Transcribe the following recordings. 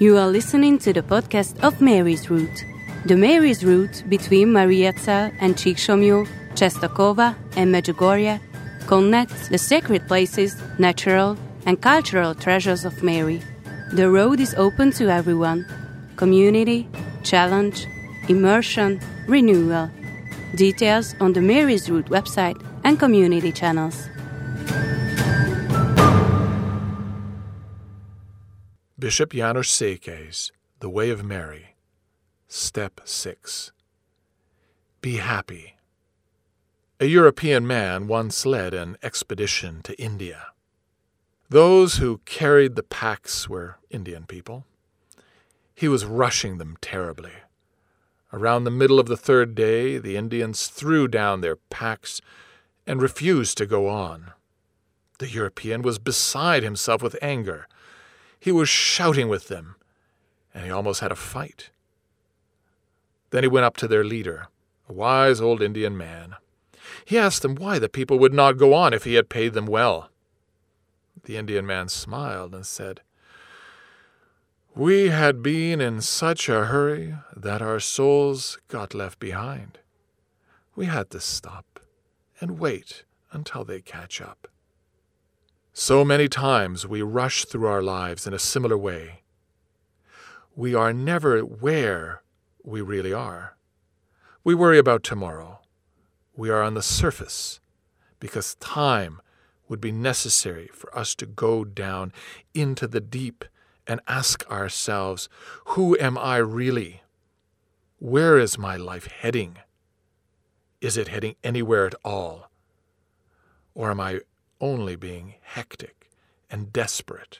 You are listening to the podcast of Mary's Route. The Mary's Route between Mariazell and Csíksomlyó, Czestochowa and Medjugorje connects the sacred places, natural and cultural treasures of Mary. The road is open to everyone. Community, challenge, immersion, renewal. Details on the Mary's Route website and community channels. Bishop János Székely's The Way of Mary, Step 6. Be happy. A European man once led an expedition to India. Those who carried the packs were Indian people. He was rushing them terribly. Around the middle of the third day, the Indians threw down their packs and refused to go on. The European was beside himself with anger. He was shouting with them, and he almost had a fight. Then he went up to their leader, a wise old Indian man. He asked them why the people would not go on if he had paid them well. The Indian man smiled and said, "We had been in such a hurry that our souls got left behind. We had to stop and wait until they catch up." So many times we rush through our lives in a similar way. We are never where we really are. We worry about tomorrow. We are on the surface because time would be necessary for us to go down into the deep and ask ourselves, who am I really? Where is my life heading? Is it heading anywhere at all? Or am I only being hectic and desperate?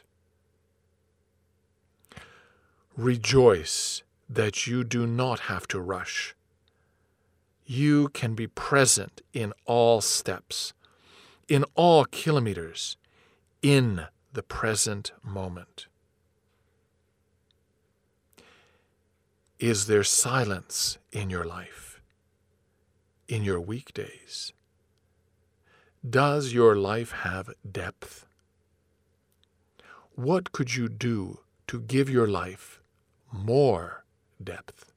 Rejoice that you do not have to rush. You can be present in all steps, in all kilometers, in the present moment. Is there silence in your life, in your weekdays? Does your life have depth? What could you do to give your life more depth?